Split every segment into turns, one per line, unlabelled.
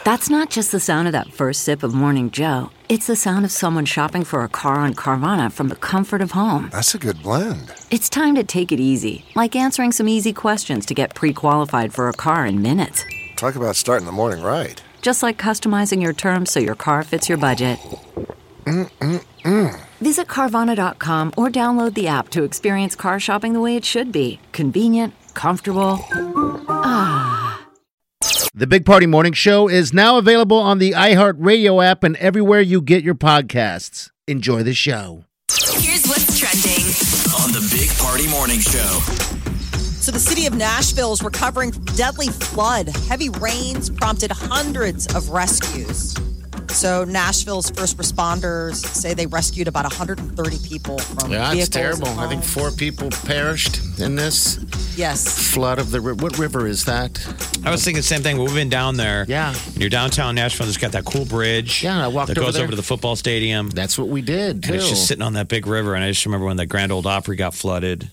That's not just the sound of that first sip of Morning Joe. It's the sound of someone shopping for a car on Carvana from the comfort of home.
That's a good blend.
It's time to take it easy, like answering some easy questions to get pre-qualified for a car in minutes.
Talk about starting the morning right.
Just like customizing your terms so your car fits your budget. Visit Carvana.com or download the app to experience car shopping the way it should be. Convenient, comfortable.
The Big Party Morning Show is now available on the iHeartRadio app and everywhere you get your podcasts. Enjoy the show.
Here's what's trending
on the Big Party Morning Show.
So the city of Nashville is recovering from deadly flood. Heavy rains prompted hundreds of rescues. So Nashville's first responders say they rescued about 130 people from vehicles.
It's terrible. I think 4 people perished in this flood of the river. What river is that?
I was thinking the same thing. We've been down there.
Yeah.
Near downtown Nashville, there's got that cool bridge.
Yeah, I walked
that
over
goes
there.
over to the football stadium.
That's what we did, too.
And it's just sitting on that big river. And I just remember when the Grand Ole Opry got flooded.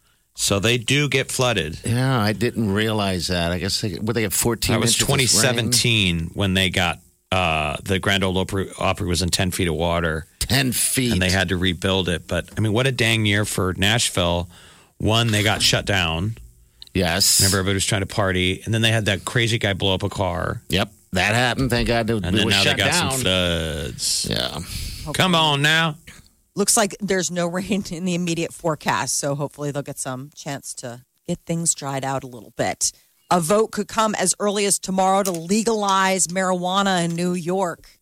So they do get flooded.
Yeah, I didn't realize that. I guess they have 14
That was
inches of rain.
2017 when they got the Grand Ole Opry was in 10 feet of water.
10 feet.
And they had to rebuild it. But, I mean, what a dang year for Nashville. One, they got shut down.
Yes.
Remember, everybody was trying to party. And then they had that crazy guy blow up a car.
Yep, that happened. Thank God it
And then
was
now
shut
they got
down.
some floods.
Yeah.
Come on now.
Looks like there's no rain in the immediate forecast, so hopefully they'll get some chance to get things dried out a little bit. A vote could come as early as tomorrow to legalize marijuana in New York.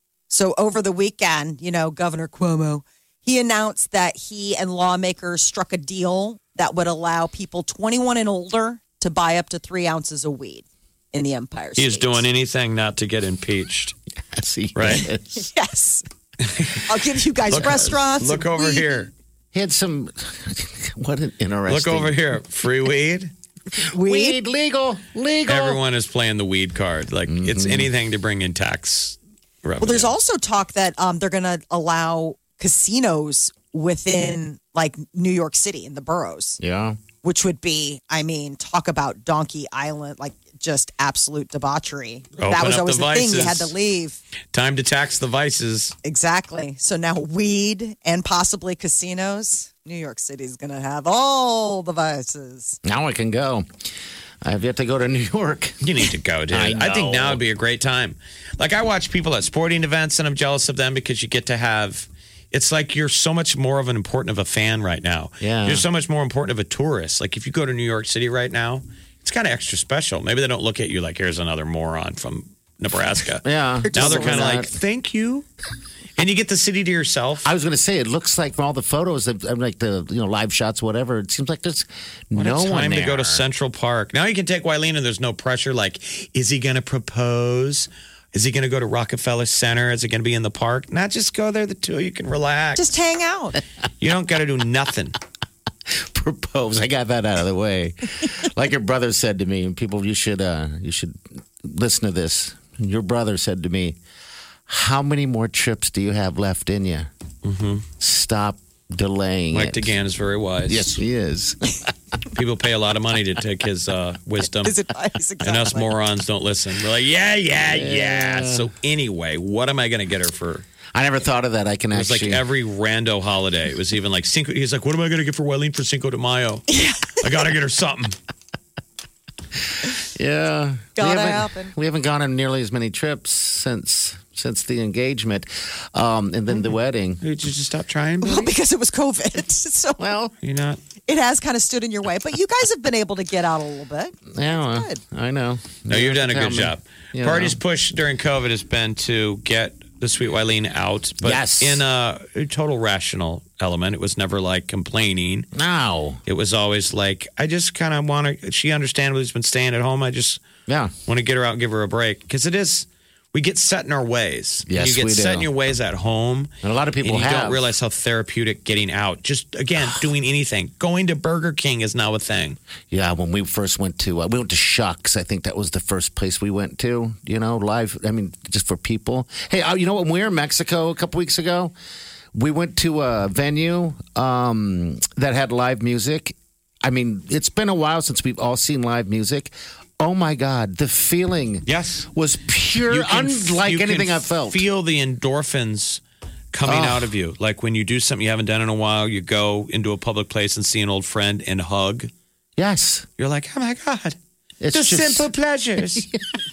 So over the weekend, Governor Cuomo, he announced that he and lawmakers struck a deal that would allow people 21 and older to buy up to 3 ounces of weed in the Empire State.
He's doing anything not to get impeached.
Yes, he
Right?
is.
Yes. I'll give you guys restaurants.
Look over
weed.
here.
He had some, what an interesting.
Look over here. Free weed.
Weed?
Legal.
Everyone is playing the weed card. Like, it's anything to bring in tax revenue.
Well, there's also talk that they're going to allow casinos within like New York City in the boroughs.
Yeah.
Which would be, talk about Donkey Island, like just absolute debauchery. That was always the thing. You had to leave.
Time to tax the vices.
Exactly. So now weed and possibly casinos. New York City is going to have all the vices.
Now I can go. I have yet to go to New York.
You need to go, dude. I think now would be a great time. Like, I watch people at sporting events, and I'm jealous of them because you get to have... It's like you're so much more of an important of a fan right now.
Yeah.
You're so much more important of a tourist. Like, if you go to New York City right now, it's kind of extra special. Maybe they don't look at you like, here's another moron from Nebraska.
Yeah.
Now they're kind of like, thank you. And you get the city to yourself.
I was going to say, it looks like from all the photos, like the live shots, whatever, it seems like there's no one
time
there.
to go to Central Park. Now you can take Wileen and there's no pressure. Like, is he going to propose? Is he going to go to Rockefeller Center? Is it going to be in the park? Not just go there, the two of you can relax.
Just hang out.
You don't got to do nothing.
Propose. I got that out of the way. Like your brother said to me, and people, you should listen to this. Your brother said to me, how many more trips do you have left in you? Mm-hmm. Stop delaying
Mike
it.
DeGan is very wise.
Yes, he is.
People pay a lot of money to take his wisdom.
His advice, exactly.
And us morons don't listen. We're like, yeah. So anyway, what am I going to get her for?
I never thought of that. I can
It was
actually.
like every rando holiday. It was even like Cinco. He's like, what am I going to get for Wileen for Cinco de Mayo? I got to get her something.
Yeah.
Gotta happen.
We haven't gone on nearly as many trips since the engagement, and then the wedding.
Did you just stop trying?
Well, because it was COVID. So
You're not.
it has kind of stood in your way. But you guys have been able to get out a little bit.
Yeah, well,
Good.
I know.
No, you've done a
Tell
good
me.
job.
You
Party's
know.
push during COVID has been to get the sweet Wileen out, but
Yes.
in a total rational element. It was never like complaining.
No.
It was always like, I just kind of want to, she understands who's been staying at home. I just want to get her out and give her a break. Because it is, we get set in our ways.
Yes,
you get
we
set
do.
in your ways at home.
And a lot of people
and you
have.
don't realize how therapeutic getting out. Just, again, doing anything. Going to Burger King is now a thing.
Yeah, when we first went to, we went to Shucks. I think that was the first place we went to, live. I mean, just for people. Hey, you know what? When we were in Mexico a couple weeks ago, we went to a venue that had live music. I mean, it's been a while since we've all seen live music. Oh my God, the feeling
Yes.
was pure, unlike anything I've felt.
Feel the endorphins coming out of you. Like when you do something you haven't done in a while, you go into a public place and see an old friend and hug.
Yes.
You're like, oh my God.
It's
The
just
simple pleasures.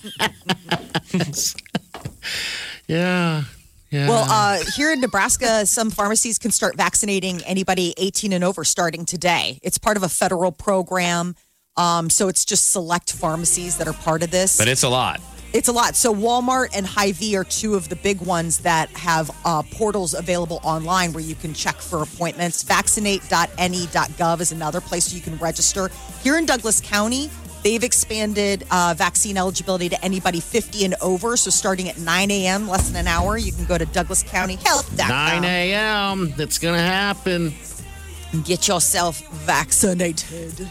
Yeah. Yeah.
Well, here in Nebraska, some pharmacies can start vaccinating anybody 18 and over starting today. It's part of a federal program. So it's just select pharmacies that are part of this.
But it's a lot.
It's a lot. So Walmart and Hy-Vee are two of the big ones that have portals available online where you can check for appointments. Vaccinate.ne.gov is another place you can register. Here in Douglas County, they've expanded vaccine eligibility to anybody 50 and over. So starting at 9 a.m., less than an hour, you can go to DouglasCountyHealth.com.
9 a.m. It's going to happen.
and get yourself vaccinated.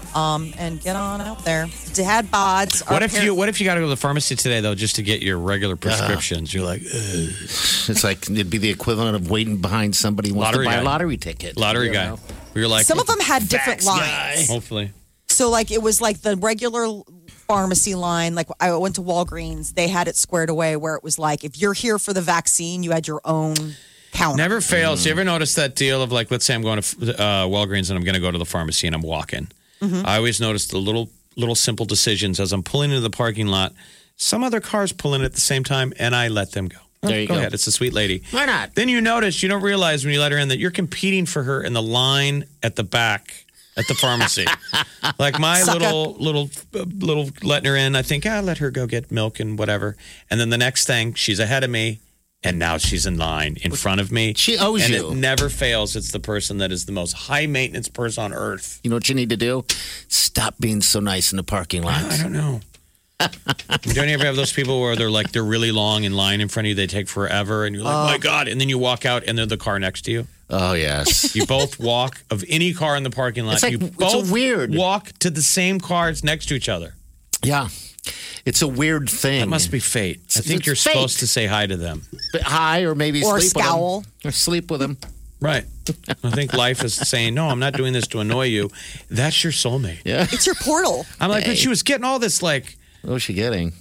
And get on out there. Dad bods.
What if you got to go to the pharmacy today though, just to get your regular prescriptions? You're like, ugh.
It's like it'd be the equivalent of waiting behind somebody who wants
Lottery
to buy
guy.
a lottery ticket.
Lottery
You
guy.
know?
You're like,
some of them had different
Vax
lines.
guy.
hopefully.
So, like, it was like the regular pharmacy line. Like, I went to Walgreens. They had it squared away where it was like, if you're here for the vaccine, you had your own counter.
Never fails. You ever notice that deal of like, let's say I'm going to Walgreens and I'm going to go to the pharmacy and I'm walking. I always notice the little simple decisions as I'm pulling into the parking lot. Some other cars pull in at the same time, and I let them go.
There you go.
ahead. It's a sweet lady.
Why not?
Then you notice, you don't realize when you let her in that you're competing for her in the line at the back at the pharmacy. Like my little letting her in. I think I'll let her go get milk and whatever. And then the next thing, she's ahead of me. And now she's in line in front of me.
She owes
and
you.
And it never fails. It's the person that is the most high maintenance person on earth.
You know what you need to do? Stop being so nice in the parking lot.
I don't know. Don't you ever have those people where they're really long in line in front of you? They take forever, and you're like, my God! And then you walk out, and they're the car next to you.
Oh yes.
You both walk of any car in the parking lot.
It's like-
you
it's
both
so weird.
walk to the same cars next to each other.
Yeah. It's a weird thing.
That must be fate. I think
It's
you're
fate.
supposed to say hi to them.
But hi, or maybe
Or
sleep
scowl.
with them. Or sleep with them.
Right. I think life is saying, no, I'm not doing this to annoy you. That's your soulmate.
Yeah.
It's your portal.
I'm like, but she was getting all this like
What's she getting?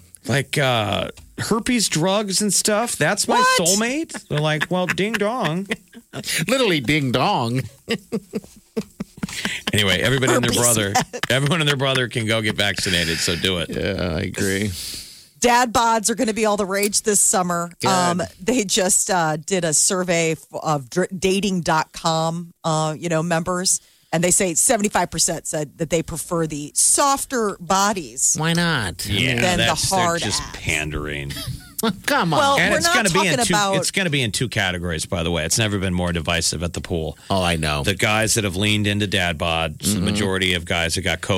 herpes drugs and stuff. That's my
What?
soulmate. They're like, well, ding dong.
Literally ding dong.
Anyway, everyone and their brother can go get vaccinated. So do it.
Yeah, I agree.
Dad bods are going to be all the rage this summer.
Good.
They just did a survey of dating.com, members. And they say 75% said that they prefer the softer bodies.
Why not?
Than the hard
they're just
ass.
pandering.
Come on.
Well,
And
we're
it's
not
going to be in
talking
two.
about-
It's going to be in two categories, by the way. It's never been more divisive at the pool.
Oh, I know.
The guys that have leaned into dad bod, so the majority of guys that got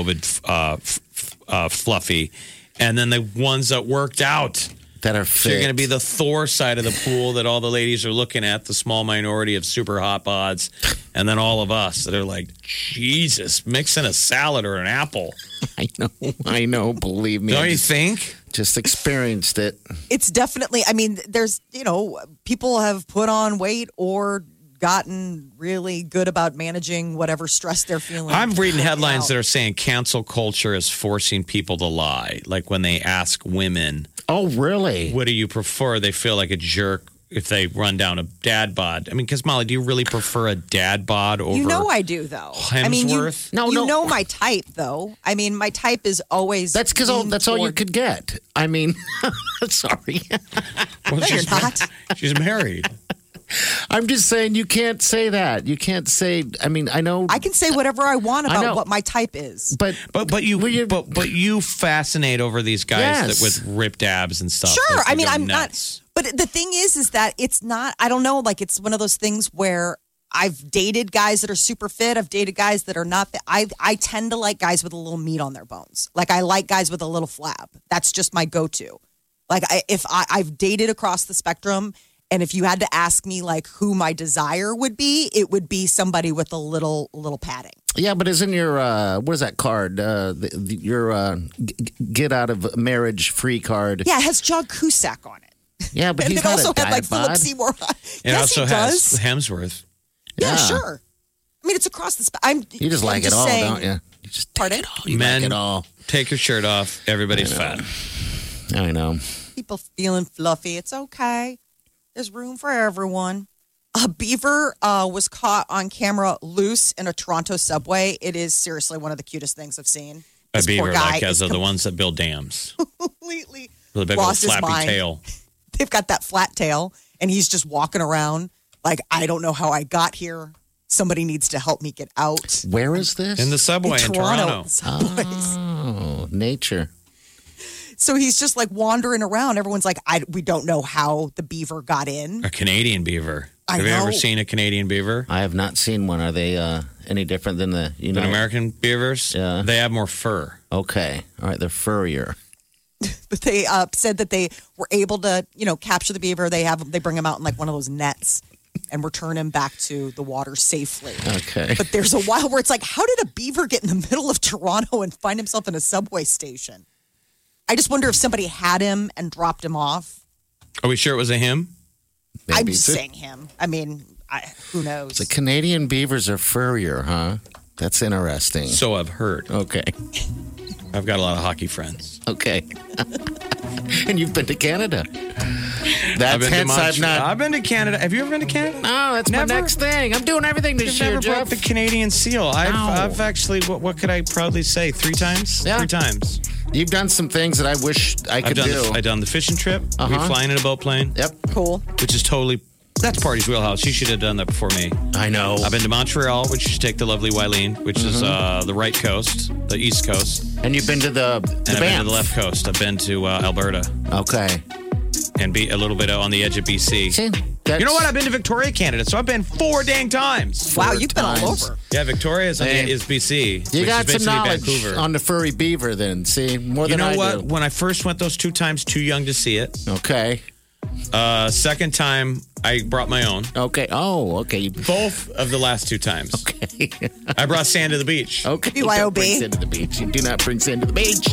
COVID fluffy, and then the ones that worked out.
that are
So
fit.
you're going to be the Thor side of the pool that all the ladies are looking at, the small minority of super hot bods, and then all of us that are like, Jesus, mixing a salad or an apple.
I know. Believe me.
Don't
I
you think?
just experienced it.
It's definitely, there's, people have put on weight or gotten really good about managing whatever stress they're feeling.
I'm reading headlines that
out.
are saying cancel culture is forcing people to lie. Like when they ask women,
Oh, really?
what do you prefer? They feel like a jerk if they run down a dad bod. I mean, because Molly, do you really prefer a dad bod over?
You know I do, though.
Hemsworth?
No,
you
no.
know my type, though. I mean, my type is always.
That's because
lean
that's all you
toward-
could get. I mean, sorry.
Well,
No, you're not.
She's married.
I'm just saying you can't say that. You can't say. I mean, I know.
I can say whatever I want
I know.
about what my type is.
but
But you fascinate over these guys
Yes.
that with ripped abs and stuff.
Sure.
Like,
I
they
mean,
go
I'm
nuts.
not. But the thing is that it's not, I don't know, like it's one of those things where I've dated guys that are super fit. I've dated guys that are not fit. I tend to like guys with a little meat on their bones. Like I like guys with a little flab. That's just my go-to. Like I've dated across the spectrum. And if you had to ask me like who my desire would be, it would be somebody with a little padding.
yeah, but isn't your what is that card? Your get out of marriage free card?
Yeah, it has John Cusack on it.
Yeah, but
And
he's
it
not
also
a
had like
dad
Philip
bod.
Seymour.
It
Yes,
also
he
has
does.
Hemsworth.
Yeah,
Yeah.
sure. I mean, it's across the spectrum.
You just like it all, don't you? just
Pardon?
take it all. You
Men-
like it all.
Take your shirt off. Everybody's fat.
I know.
People feeling fluffy. It's okay. There's room for everyone. A beaver was caught on camera loose in a Toronto subway. It is seriously one of the cutest things I've seen.
A
This poor
beaver,
guy
like as
is
of the ones that build dams.
completely
With a big old
lost his
flappy
mind.
tail.
They've got that flat tail, and he's just walking around like, I don't know how I got here. Somebody needs to help me get out.
Where is this?
In the subway in Toronto.
subways.
Oh, nature.
So he's just like wandering around. Everyone's like, we don't know how the beaver got in.
A Canadian beaver.
I
Have you ever
know.
seen a Canadian beaver?
I have not seen one. Are they any different than the
Than American beavers?
Yeah.
They have more fur.
Okay. All right. They're furrier.
But they said that they were able to, capture the beaver. They bring him out in like one of those nets and return him back to the water safely.
Okay.
But there's a while where it's like, how did a beaver get in the middle of Toronto and find himself in a subway station? I just wonder if somebody had him and dropped him off.
Are we sure it was a him?
I'm
Maybe.
just saying him. I mean, who knows?
The Canadian beavers are furrier, huh? That's interesting.
So I've heard.
Okay.
I've got a lot of hockey friends.
Okay. And you've been to Canada.
I've
That's
been to
hence I've
Montreal.
not.
I've been to Canada. Have you ever been to Canada?
No, that's
Never?
my next thing. I'm doing everything this
You've
year,
never brought
Jeff.
the Canadian seal. I've actually, what could I proudly say? 3 times?
Yeah.
3 times.
You've done some things that I wish I could do.
I've done the fishing trip. We
Uh-huh.
flying in a boat plane,
Yep.
Cool.
which is that's Party's wheelhouse. You should have done that before me.
I know.
I've been to Montreal, which you should take the lovely Wileen, which is the right coast, the east coast.
And you've been to the
And I've been to
Banff.
the left coast. I've been to Alberta
Okay.
and be a little bit on the edge of BC.
See,
You know what? I've been to Victoria, Canada, so I've been 4 dang times.
Wow,
4
you've been all
times.
over.
Yeah, Victoria is
Hey.
BC.
You
which
got
is
some
basically
knowledge
Vancouver.
on the furry beaver then. See, more
You
than
know
I
what?
do.
When I first went those 2 times, too young to see it.
Okay.
Second time, I brought my own.
Okay. Oh, okay.
Both of the last 2 times.
Okay.
I brought sand to the beach.
Okay.
BYOB.
Don't bring sand to the beach. You do not bring sand to the beach.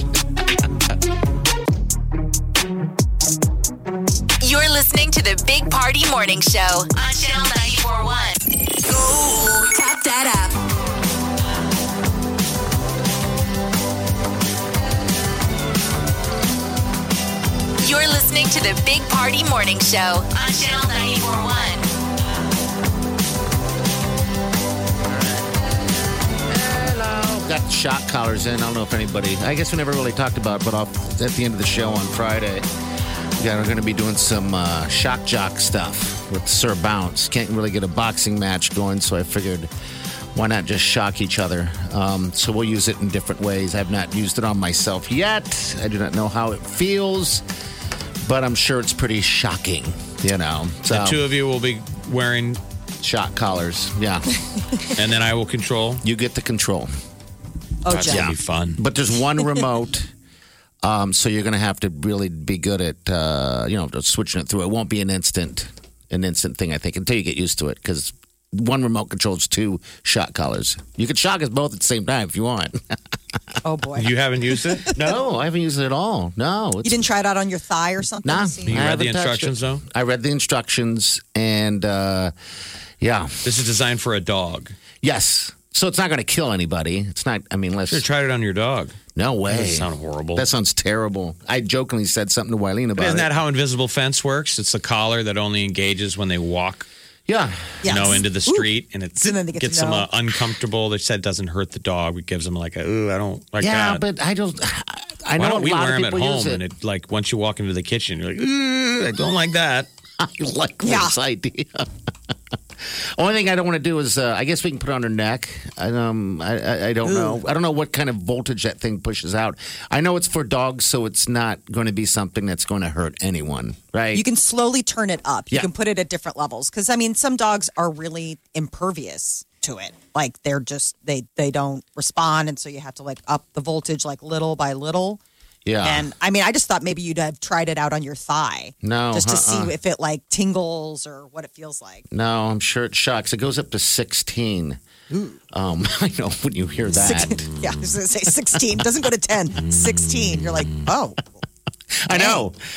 You're listening to the Big Party Morning Show on Channel 94.1. Go tap that app. You're listening to the Big Party Morning Show on Channel 94.1.
Hello. Got the shock collars in. I don't know if anybody, I guess we never really talked about it, but at the end of the show on Friday, we're going to be doing some shock jock stuff with Sir Bounce. Can't really get a boxing match going, so I figured why not just shock each other? So we'll use it in different ways. I've not used it on myself yet. I do not know how it feels, but I'm sure it's pretty shocking, So
The 2 of you will be wearing,
shock collars, yeah.
and then I will control.
You get the control.
Oh,
That's
Jeff.
going to be fun.
But there's one remote, so you're going to have to really be good at, just switching it through. It won't be an instant thing, I think, until you get used to it, because one remote controls 2 shock collars. You can shock us both at the same time if you want.
Oh, boy.
You haven't used it?
No, I haven't used it at all. No.
You didn't try it out on your thigh or something?
Nah.
to see?
You
I
read the
haven't touched
instructions,
it.
though?
I read the instructions, and yeah.
This is designed for a dog.
Yes. So it's not going to kill anybody. It's not, unless.
You tried it on your dog.
No way.
That sounds horrible.
That sounds terrible. I jokingly said something to Wileen about
Isn't
it.
that how invisible fence works? It's a collar that only engages when they walk,
Yeah.
Yes.
into the street, and it
And then they get to
gets them
know.
uncomfortable. They said it doesn't hurt the dog. It gives them like I don't like
Yeah,
that.
but I don't. I
Why
know
don't we
a lot
wear
of
them at
people use
home?
it.
And it like once you walk into the kitchen, you're like, I don't like that.
I like
Yeah.
this idea. Only thing I don't want to do is, I guess we can put it on her neck. I don't know. I don't know what kind of voltage that thing pushes out. I know it's for dogs, so it's not going to be something that's going to hurt anyone, right?
You can slowly turn it up. You
Yeah.
can put it at different levels. Because, some dogs are really impervious to it. Like, they're just, they don't respond. And so you have to, up the voltage, little by little.
yeah.
And, I just thought maybe you'd have tried it out on your thigh.
No,
Just to see if it, tingles or what it feels like.
No, I'm sure it shocks. It goes up to 16. I know when you hear that.
Yeah, I was going to say 16. Doesn't go to 10. 16. You're like, oh.
I know.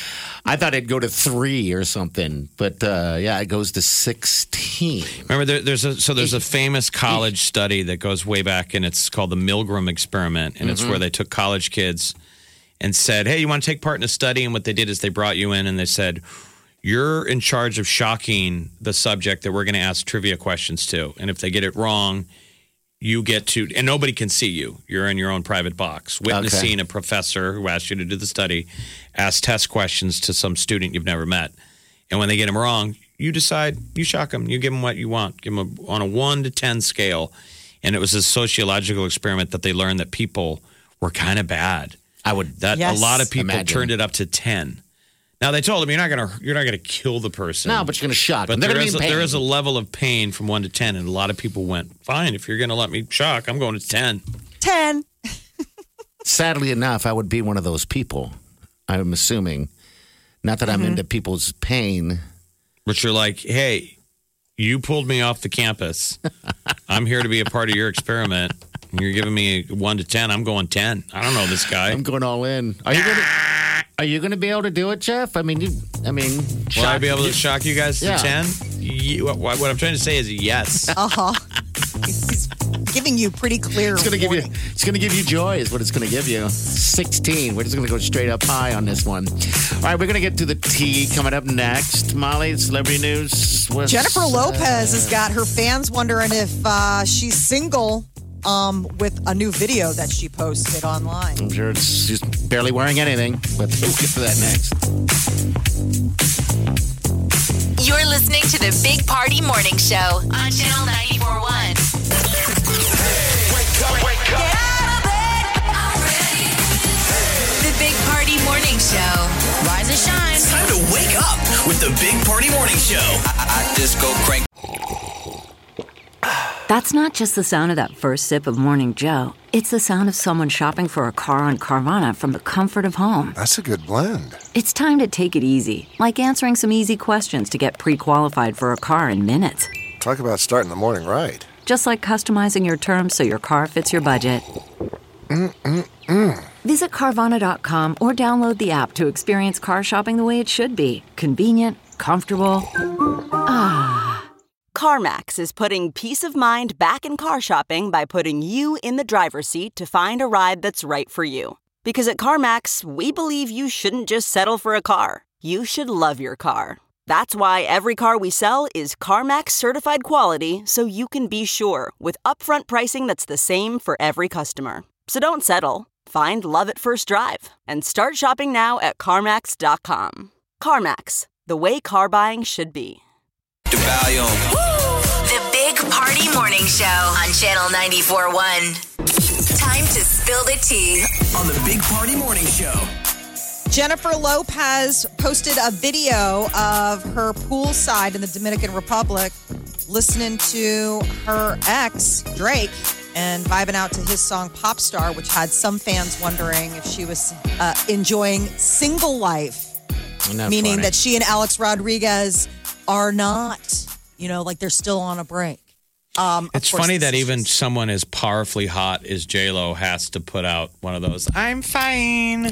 I thought it'd go to 3 or something, but yeah, it goes to 16.
Remember, there's a famous college study that goes way back, and it's called the Milgram experiment, and it's where they took college kids and said, "Hey, you want to take part in a study?" And what they did is they brought you in and they said, "You're in charge of shocking the subject that we're going to ask trivia questions to, and if they get it wrong, you get to, and nobody can see you. You're in your own private box, witnessing a professor who asked you to do the study, ask test questions to some student you've never met. And when they get them wrong, you decide, you shock them, you give them what you want, give them on a 1 to 10 scale." And it was a sociological experiment that they learned that people were kind of bad. A lot of people turned it up to 10. Now they told him you're not gonna kill the person.
No, but you're gonna shock them.
But there is a level of pain from 1 to 10, and a lot of people went, "Fine, if you're gonna let me shock, I'm going to 10."
10.
Sadly enough, I would be one of those people. I'm assuming, not that I'm into people's pain,
but you're like, "Hey, you pulled me off the campus. I'm here to be a part of your experiment. And you're giving me 1 to 10. I'm going 10. I don't know this guy.
I'm going all in. Are you going to be able to do it, Jeff?
Will I be able to shock you guys to 10? What I'm trying to say is yes.
He's giving you pretty clear.
It's going to give you joy, is what it's going to give you. 16. We're just going to go straight up high on this one. All right, we're going to get to the tea coming up next. Molly, celebrity news.
Jennifer Lopez has got her fans wondering if she's single. With a new video that she posted online.
I'm sure she's barely wearing anything, but we'll get to that next.
You're listening to the Big Party Morning Show on Channel 94.1.
Wake up.
Get out of bed already. The Big Party Morning Show. Rise and shine.
It's time to wake up with the Big Party Morning Show. I just go crank.
That's not just the sound of that first sip of Morning Joe. It's the sound of someone shopping for a car on Carvana from the comfort of home.
That's a good blend.
It's time to take it easy, like answering some easy questions to get pre-qualified for a car in minutes.
Talk about starting the morning right.
Just like customizing your terms so your car fits your budget. Visit Carvana.com or download the app to experience car shopping the way it should be. Convenient, comfortable.
CarMax is putting peace of mind back in car shopping by putting you in the driver's seat to find a ride that's right for you. Because at CarMax, we believe you shouldn't just settle for a car. You should love your car. That's why every car we sell is CarMax certified quality, so you can be sure with upfront pricing that's the same for every customer. So don't settle. Find love at first drive and start shopping now at CarMax.com. CarMax, the way car buying should be.
The
Big Party Morning Show on Channel 94.1. Time to spill the tea
on the Big Party Morning Show.
Jennifer Lopez posted a video of her poolside in the Dominican Republic listening to her ex, Drake, and vibing out to his song Pop Star, which had some fans wondering if she was enjoying single life, meaning that she and Alex Rodriguez are not, like they're still on a break.
It's funny that even someone as powerfully hot as J-Lo has to put out one of those, "I'm fine."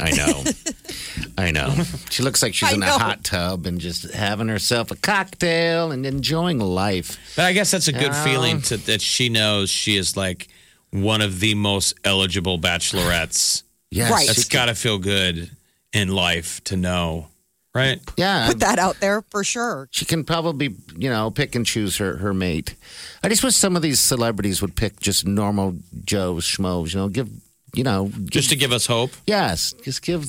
I know. She looks like she's in a hot tub and just having herself a cocktail and enjoying life.
But I guess that's a good feeling that she knows she is like one of the most eligible bachelorettes.
Yes.
Right.
It's got to feel good in life to know. Right?
Yeah.
Put that out there for sure.
She can probably, pick and choose her mate. I just wish some of these celebrities would pick just normal Joes, schmoes,
just to give us hope.
Yes. Just give,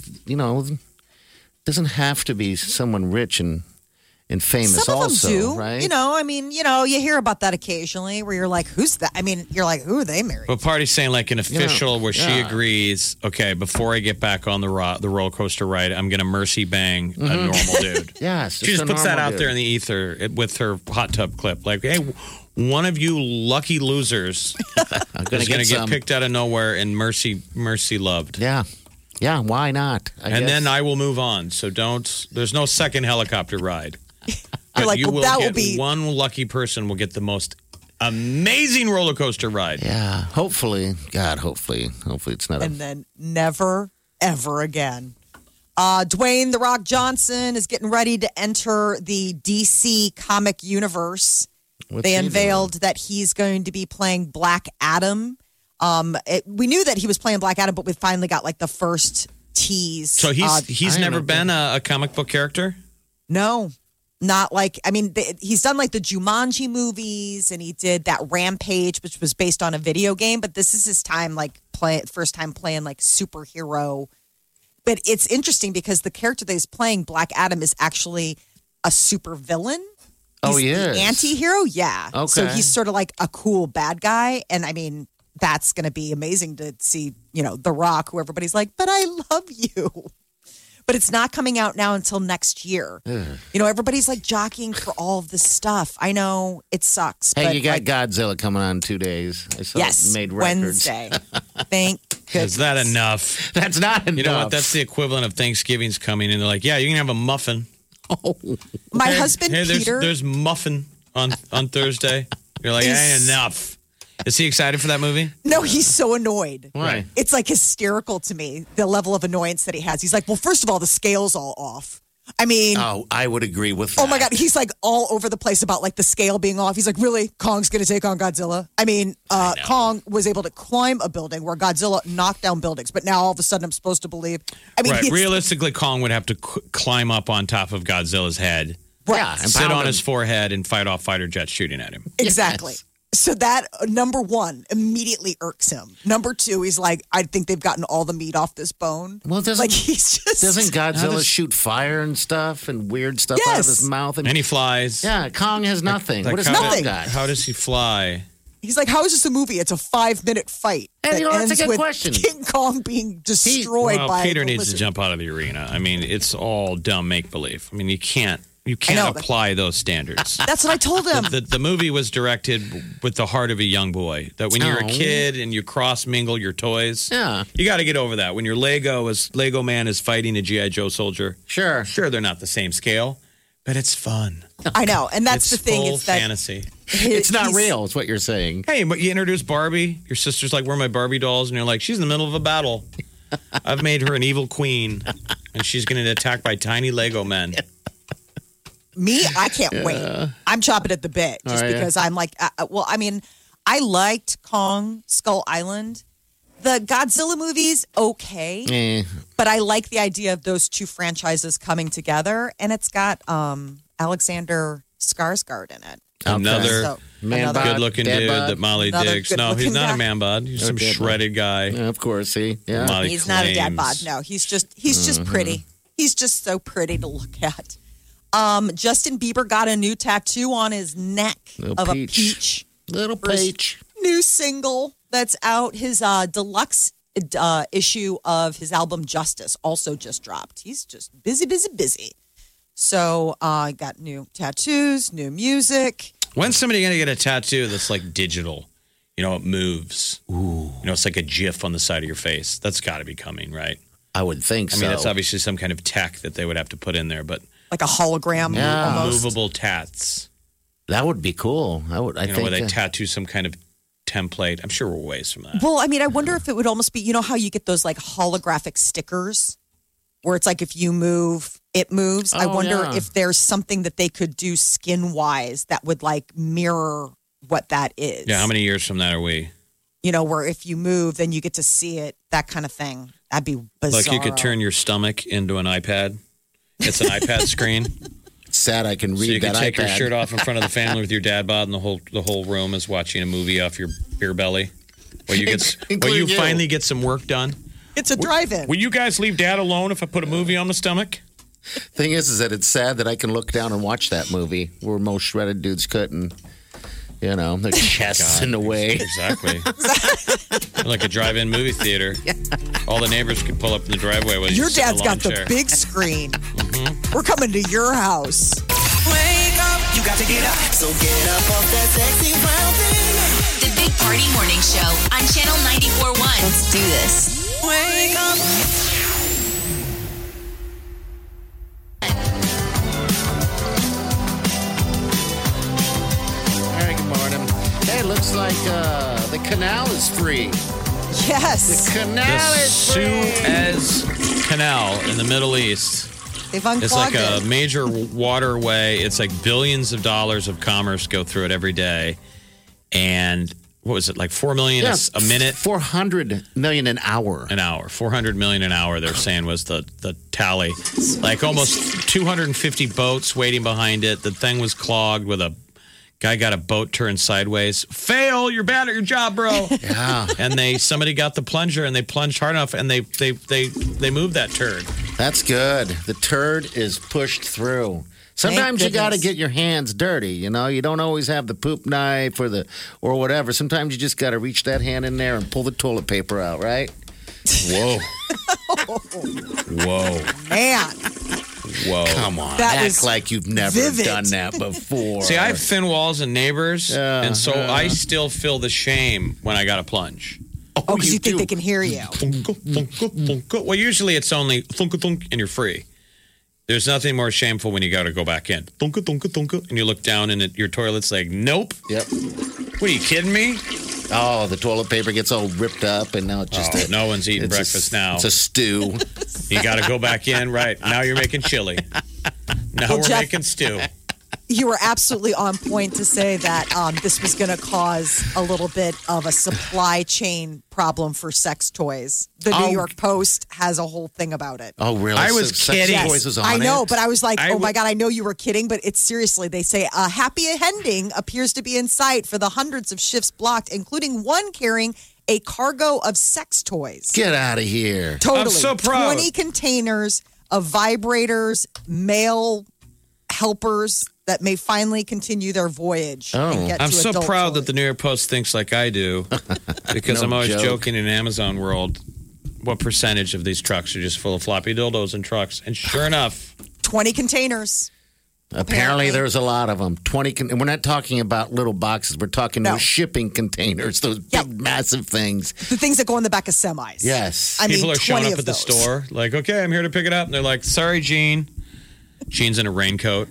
doesn't have to be someone rich and famous
Some of
also,
them do.
right?
You hear about that occasionally where you're like, who's that? I mean, you're like, who are they married?
But Party's saying like an official where she agrees, okay, before I get back on the roller coaster ride, I'm going to mercy bang a normal dude.
Yes.
She just puts that out there in the ether with her hot tub clip. Like, hey, one of you lucky losers is going to get picked out of nowhere and mercy loved.
Yeah. Yeah, why not?
Then I will move on. So there's no second helicopter ride.
You're like,
one lucky person will get the most amazing roller coaster ride.
Yeah, hopefully. God, hopefully it's not.
And then never, ever again. Dwayne The Rock Johnson is getting ready to enter the DC comic universe.
What's
They
he
unveiled that he's going to be playing Black Adam. We knew that he was playing Black Adam, but we finally got like the first tease.
So he's
I
never
don't
been a comic book character?
No, not like, I mean, he's done like the Jumanji movies and he did that Rampage, which was based on a video game, but this is his time, like first time playing like superhero. But it's interesting because the character that he's playing, Black Adam, is actually a super villain.
Oh,
He's
yes.
the anti-hero, yeah.
Okay.
So he's sort of like a cool bad guy. And I mean, that's going to be amazing to see, The Rock, who everybody's like, but I love you. But it's not coming out now until next year. Everybody's like jockeying for all of this stuff. I know it sucks.
Hey,
but
you got
like,
Godzilla coming on in 2 days. I saw
yes,
it made records.
Wednesday. Thank goodness.
Is that enough?
That's not enough.
You know what? That's the equivalent of Thanksgiving's coming, and they're like, "Yeah, you can have a muffin."
My
Hey,
husband,
hey,
Peter.
there's muffin on Thursday. You're like, ain't enough. Is he excited for that movie?
No, he's so annoyed.
Why?
It's like hysterical to me, the level of annoyance that he has. He's like, well, first of all, the scale's all off. I mean,
Oh, I would agree with that.
oh my God, he's like all over the place about like the scale being off. He's like, really? Kong's going to take on Godzilla? I mean, Kong was able to climb a building where Godzilla knocked down buildings, but now all of a sudden I'm supposed to believe. I mean,
Right.
he's-
Realistically, Kong would have to climb up on top of Godzilla's head,
Yeah, and
sit
pound
on
him.
his forehead, and fight off fighter jets shooting at him.
Exactly.
Yes.
So that, number one, immediately irks him. Number two, he's like, I think they've gotten all the meat off this bone.
Well, doesn't
Doesn't
Godzilla shoot fire and stuff and weird stuff out of
Yes.
his mouth?
And he flies.
yeah, Kong has nothing.
Like
what does
how
Kong
Nothing.
got?
How does he fly?
He's like, how is this a movie? It's a 5-minute fight.
And
that
you know, that's a
ends
good
with
question.
King Kong being destroyed
Well,
by
Peter
the
needs to
lizard.
jump out of the arena. I mean, it's all dumb make believe. I mean, you can't
know, but-
apply those standards.
That's what I told him.
The movie was directed with the heart of a young boy. That when you're a
Oh.
kid and you cross mingle your toys,
Yeah.
you got to get over that. When your Lego man is fighting a GI Joe soldier,
Sure.
sure they're not the same scale, but it's fun.
I know, and that's
it's
the thing.
full
It's that
fantasy.
It's not
he's-
real, is what you're saying.
Hey, but you introduce Barbie. Your sister's like, "Where are my Barbie dolls?" And you're like, "She's in the middle of a battle. I've made her an evil queen, and she's going to get attacked by tiny Lego men."
Me, I can't wait. I'm chopping at the bit just
Oh, yeah.
because I'm like, well, I mean, I liked Kong Skull Island. The Godzilla movies, okay,
Eh.
but I like the idea of those two franchises coming together, and it's got Alexander Skarsgård in it.
Another
So,
Man
another-
bod.
good-looking
Dad
dude
bod?
that Molly
Another
digs. No, he's
good-looking
not
guy?
a man bod. He's some
dad bod.
shredded guy.
Yeah, of course, see? Yeah.
Molly
He's not a dad bod.
claims.
No, he's just pretty. He's just so pretty to look at. Justin Bieber got a new tattoo on his neck
Little
of
peach.
a peach.
Little
For his
peach.
New single that's out. His deluxe issue of his album Justice also just dropped. He's just busy. So got new tattoos, new music.
When's somebody going to get a tattoo that's like digital? You know, it moves. Ooh. You know, it's like a GIF on the side of your face. That's got to be coming, right?
I would think
I
so.
mean, it's obviously some kind of tech that they would have to put in there, but
Like a hologram
Yeah.
almost.
movable tats.
That would be cool. I
You know,
think
where they tattoo some kind of template. I'm sure we're ways from that.
Well, I mean, I wonder if it would almost be, you know how you get those like holographic stickers where it's like if you move, it moves. I
Oh,
wonder
yeah.
if there's something that they could do skin wise that would like mirror what that is.
Yeah, how many years from that are we?
You know, where if you move, then you get to see it, that kind of thing. That'd be bizarre.
Like you could turn your stomach into an iPad. It's an iPad screen.
It's sad I can read
So you
that
can take your
iPad.
shirt off in front of the family with your dad bod, and the whole room is watching a movie off your beer belly. Where you
Including you.
finally get some work done.
It's a drive-in.
Will you guys leave dad alone if I put a movie on the stomach?
Thing is that it's sad that I can look down and watch that movie where most shredded dudes couldn't. You know, their chests in the way.
Exactly. Like a drive-in movie theater. All the neighbors could pull up in the driveway while you
Your
sit in
dad's
a
got the
lawn chair.
big screen. We're coming to your house.
Wake up, you got to get up. So get up off that sexy brown thing.
The Big Party Morning Show on Channel 94.1. Let's do this.
Wake up.
All right, good morning. Hey, it looks like the canal is free.
Yes.
Canal
The
is free.
Suez Canal in the Middle East.
They've unclogged
It's like a
it.
major waterway. It's like billions of dollars of commerce go through it every day. And what was it, like 4 million a minute?
400 million an hour.
An hour. 400 million an hour, they're saying, was the tally. Like almost 250 boats waiting behind it. The thing was clogged with a guy got a boat turned sideways. Fail, you're bad at your job, bro.
Yeah.
And somebody got the plunger and they plunged hard enough and they moved that turd.
That's good. The turd is pushed through. Sometimes you got to get your hands dirty. You know, you don't always have the poop knife or whatever. Sometimes you just got to reach that hand in there and pull the toilet paper out, right?
Whoa. Whoa.
Man.
Whoa.
Come on.
That
Act
is
like you've never
vivid.
done that before.
See, I have thin walls and neighbors, and so I still feel the shame when I got to plunge.
Oh, because you think they can hear you.
Well, usually it's only thunk thunk and you're free. There's nothing more shameful when you got to go back in. Thunk thunk thunk, and you look down and your toilet's like, nope.
Yep.
What, are you kidding me?
Oh, the toilet paper gets all ripped up, and now it's just
No one's eating breakfast now.
It's a stew.
You got to go back in, right? Now you're making chili. Now
Well,
we're
Jeff-
making stew.
You were absolutely on point to say that this was going to cause a little bit of a supply chain problem for sex toys. The New York Post has a whole thing about it.
Oh, really?
I was
Sex
kidding.
Toys was on
I know,
it?
but I was like,
I
oh my God, I know you were kidding, but it's seriously. They say a happy ending appears to be in sight for the hundreds of shifts blocked, including one carrying a cargo of sex toys.
Get out of here.
Totally.
I'm so proud.
20 containers of vibrators, male helpers that may finally continue their voyage and get
I'm
to
so
adult
proud
toys.
that the New York Post thinks like I do, because
No
I'm always
joke.
joking in Amazon world. What percentage of these trucks are just full of floppy dildos and trucks? And sure enough,
20 containers.
Apparently, there's a lot of them. 20, and we're not talking about little boxes. We're talking
No.
those shipping containers, those
Yep.
big, massive things.
The things that go in the back of semis.
Yes.
I
people
mean,
are showing
20
up
of
at the
those.
store like, okay, I'm here to pick it up. And they're like, sorry, Gene. Gene's in a raincoat.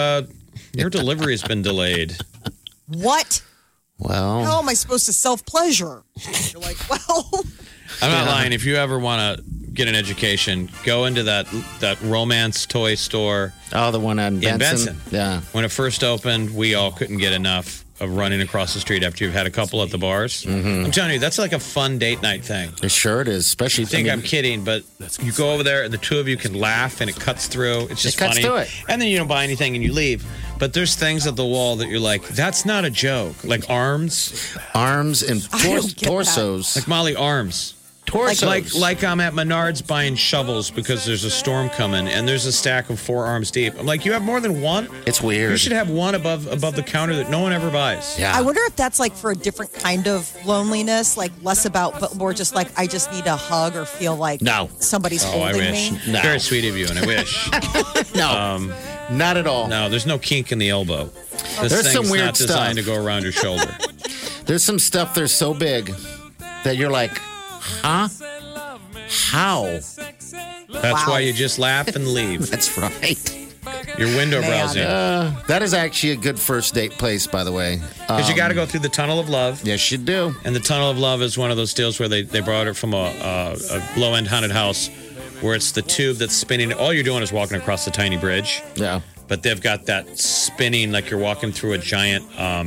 Your delivery has been delayed.
What?
Well,
How am I supposed to self-pleasure? You're like, well,
I'm not lying. If you ever want to get an education, go into that romance toy store.
oh, the one on Benson.
In Benson.
Yeah.
When it first opened, we all couldn't get enough of running across the street after you've had a couple at the bars.
Mm-hmm.
I'm telling you, that's like a fun date night thing.
It sure it is, especially
You think I'm kidding, but you go over there and the two of you can laugh and it cuts through. It's just
It cuts
funny.
through it.
And then you don't buy anything and you leave. But there's things at the wall that you're like, that's not a joke. Like arms,
arms and
I don't get that.
torsos.
like Molly arms.
torsos.
Like I'm at Menards buying shovels because there's a storm coming and there's a stack of 4 arms deep. I'm like, you have more than one?
It's weird.
You should have one above the counter that no one ever buys.
Yeah.
I wonder if that's like for a different kind of loneliness, like less about, but more just like, I just need a hug or feel like
No.
somebody's
Oh, I
holding
wish.
me.
No.
Very sweet of you, and I wish.
No. Not at all.
No, there's no kink in the elbow. This
There's
thing's
some weird
not designed
stuff.
to go around your shoulder.
There's some stuff that's so big that you're like, huh? How?
That's why you just laugh and leave.
That's right.
You're window
Man.
browsing.
That is actually a good first date place, by the way.
Because you got to go through the tunnel of love.
Yes, you do.
And the tunnel of love is one of those deals where they brought it from a low-end haunted house where it's the tube that's spinning. All you're doing is walking across the tiny bridge.
Yeah.
But they've got that spinning like you're walking through a giant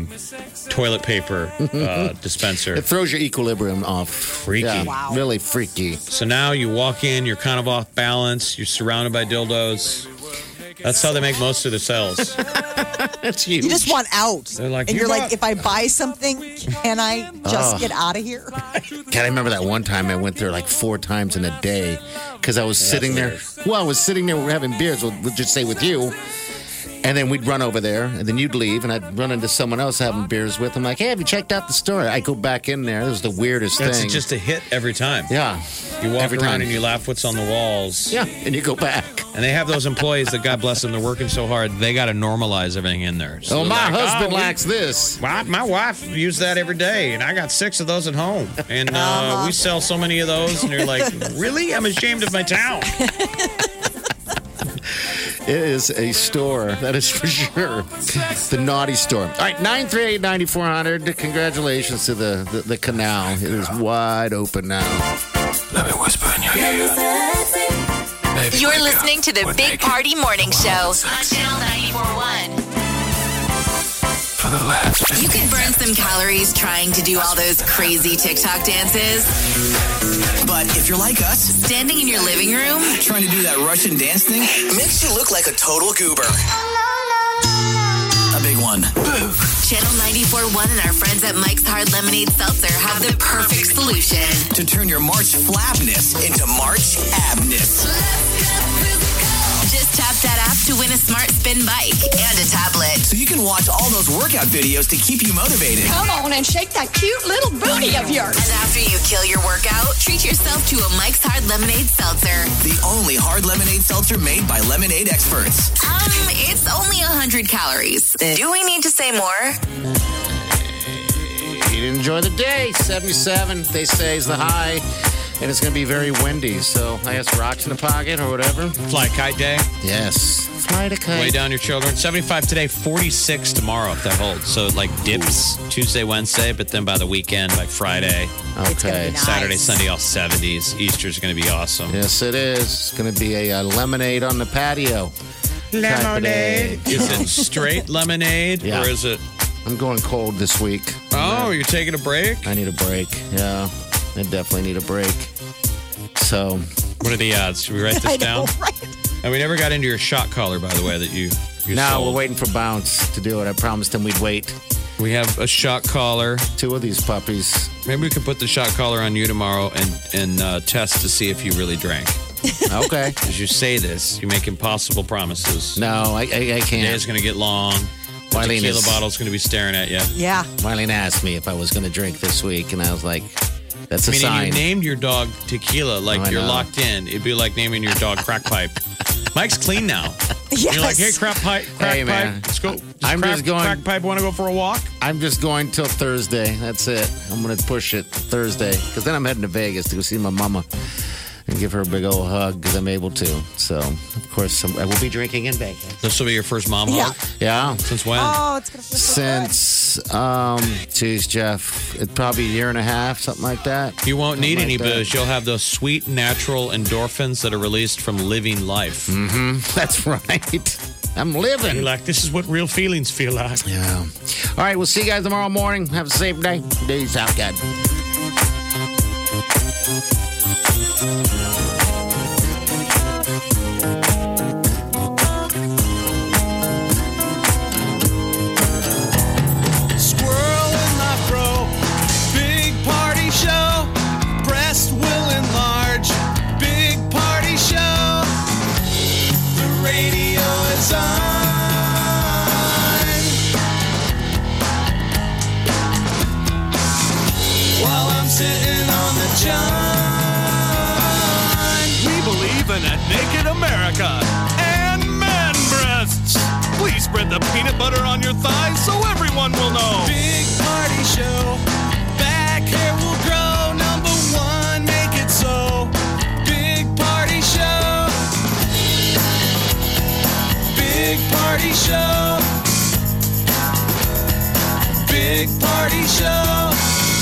toilet paper dispenser.
It throws your equilibrium off.
Freaky.
Yeah,
Wow.
really freaky.
So now you walk in, you're kind of off balance, you're surrounded by dildos. That's how they make most of their sales.
That's huge.
You just want out.
They're like,
and
"You
you're like,
got-"
if I buy something, can I just get out of here?
God, I remember that one time I went there like 4 times in a day because I was sitting there. Well, I was sitting there, we're having beers, we'll just say with you. And then we'd run over there, and then you'd leave, and I'd run into someone else having beers with. I'm like, hey, have you checked out the store? I go back in there. It was the weirdest
That's
thing.
just a hit every time.
yeah.
You walk
Every
around
time.
and you laugh what's on the walls.
Yeah, and you go back.
And they have those employees that, God bless them, they're working so hard, they got to normalize everything in there. So
Oh,
they're
my
like,
husband
"Oh, we-
likes this.
My wife used that every day, and I got 6 of those at home. And we sell so many of those, and you're like, really? I'm ashamed of my town.
It is a store, that is for sure. The naughty store. All right, 938-9400. Congratulations to the canal. It is wide open now.
Let me whisper in your ear.
You're listening to the Big Party Morning Show on Channel 94.1.
For the last.
You could burn some calories trying to do all those crazy TikTok dances.
But if you're like us,
Standing in your living room,
trying to do that Russian dance thing makes you look like a total goober. A big one.
Channel 94.1 and our friends at Mike's Hard Lemonade Seltzer have the perfect solution.
To turn your March flabness into March abness.
Just tap that app to win a smart spin bike and a tablet.
So you can watch all those workout videos to keep you motivated.
Come on and shake that cute little booty of yours.
And after you kill your workout, treat yourself to a Mike's Hard Lemonade Seltzer.
The only hard lemonade seltzer made by lemonade experts.
It's only 100 calories. Do we need to say more?
You enjoy the day. 77, they say, is the high. And it's going to be very windy. So I guess rocks in the pocket or whatever.
Fly kite day.
Yes. Fly the kite.
Way down your children. 75 today, 46 tomorrow if that holds. So it like dips Tuesday, Wednesday, but then by the weekend, by Friday,
It's gonna be
Okay.
nice.
Saturday, Sunday, all 70s. Easter's going to be awesome.
Yes, it is. It's going to be a lemonade on the patio. Lemonade.
Is it straight lemonade
Yeah.
or is it?
I'm going cold this week.
Oh, you're taking a break?
I need a break. Yeah, I definitely need a break. So,
What are the odds? Should we write this
I
down?
know, right?
And we never got into your shot collar, by the way, that you
now
sold.
we're waiting for Bounce to do it. I promised him we'd wait.
We have a shot collar.
2 of these puppies.
Maybe we could put the shot collar on you tomorrow and test to see if you really drank.
Okay.
As you say this, you make impossible promises.
No, I
The
can't.
day's going to get long. The
Marlene
tequila
is-
bottle's going to be staring at you.
Yeah.
Marlene asked me if I was going to drink this week, and I was like, that's a
I mean, if
sign.
you named your dog Tequila like
I
you're
know.
locked in, it'd be like naming your dog Crack Pipe. Mike's clean now.
Yes.
You're like, hey, Crack Pipe,
Hey, man.
Let's go. Does
I'm
crack,
just going-
Crack Pipe want to go for a walk?
I'm just going till Thursday. That's it. I'm going to push it Thursday, because then I'm heading to Vegas to go see my mama and give her a big old hug, because I'm able to. So, of course, I will be drinking in Vegas.
This will be your first mom
Yeah.
hug?
Yeah.
Since when?
Oh, it's going to feel so good.
Since, geez, Jeff, it's probably a year and a half, something like that.
You won't need
Something
any
like that.
booze. You'll have those sweet, natural endorphins that are released from living life.
That's right. I'm living.
You're like, this is what real feelings feel like.
Yeah. All right, we'll see you guys tomorrow morning. Have a safe day. Peace out, God.
Squirrel in my fro. Big party show. Breast will enlarge. Big party show. The radio is on. While I'm sitting on the john. We believe in a naked America and man breasts. Please spread the peanut butter on your thighs so everyone will know. Big party show. Back hair will grow. Number one, make it so. Big party show. Big party show. Big party show.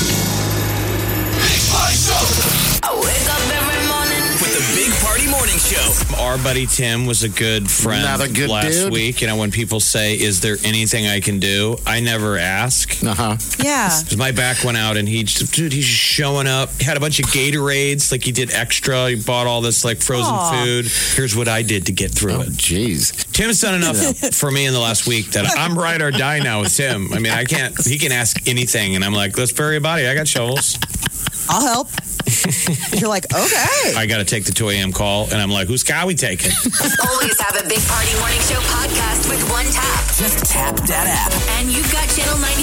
Big party show.
I wake up every morning.
With the Big Party Morning Show.
Our buddy Tim was a good friend
Another good
last
dude.
week. You know, when people say, is there anything I can do? I never ask.
Uh-huh.
Yeah.
Because my back went out and he's just showing up. He had a bunch of Gatorades, like he did extra. He bought all this like frozen food. Here's what I did to get through
Oh,
it.
jeez.
Tim's done enough for me in the last week that I'm ride or die now with Tim. I mean, he can ask anything. And I'm like, let's bury a body. I got shovels.
I'll help. You're like, okay.
I got to take the 2 a.m. call. And I'm like, whose car are we taking?
Always have a Big Party Morning Show podcast with one tap.
Just tap that app.
And you've got Channel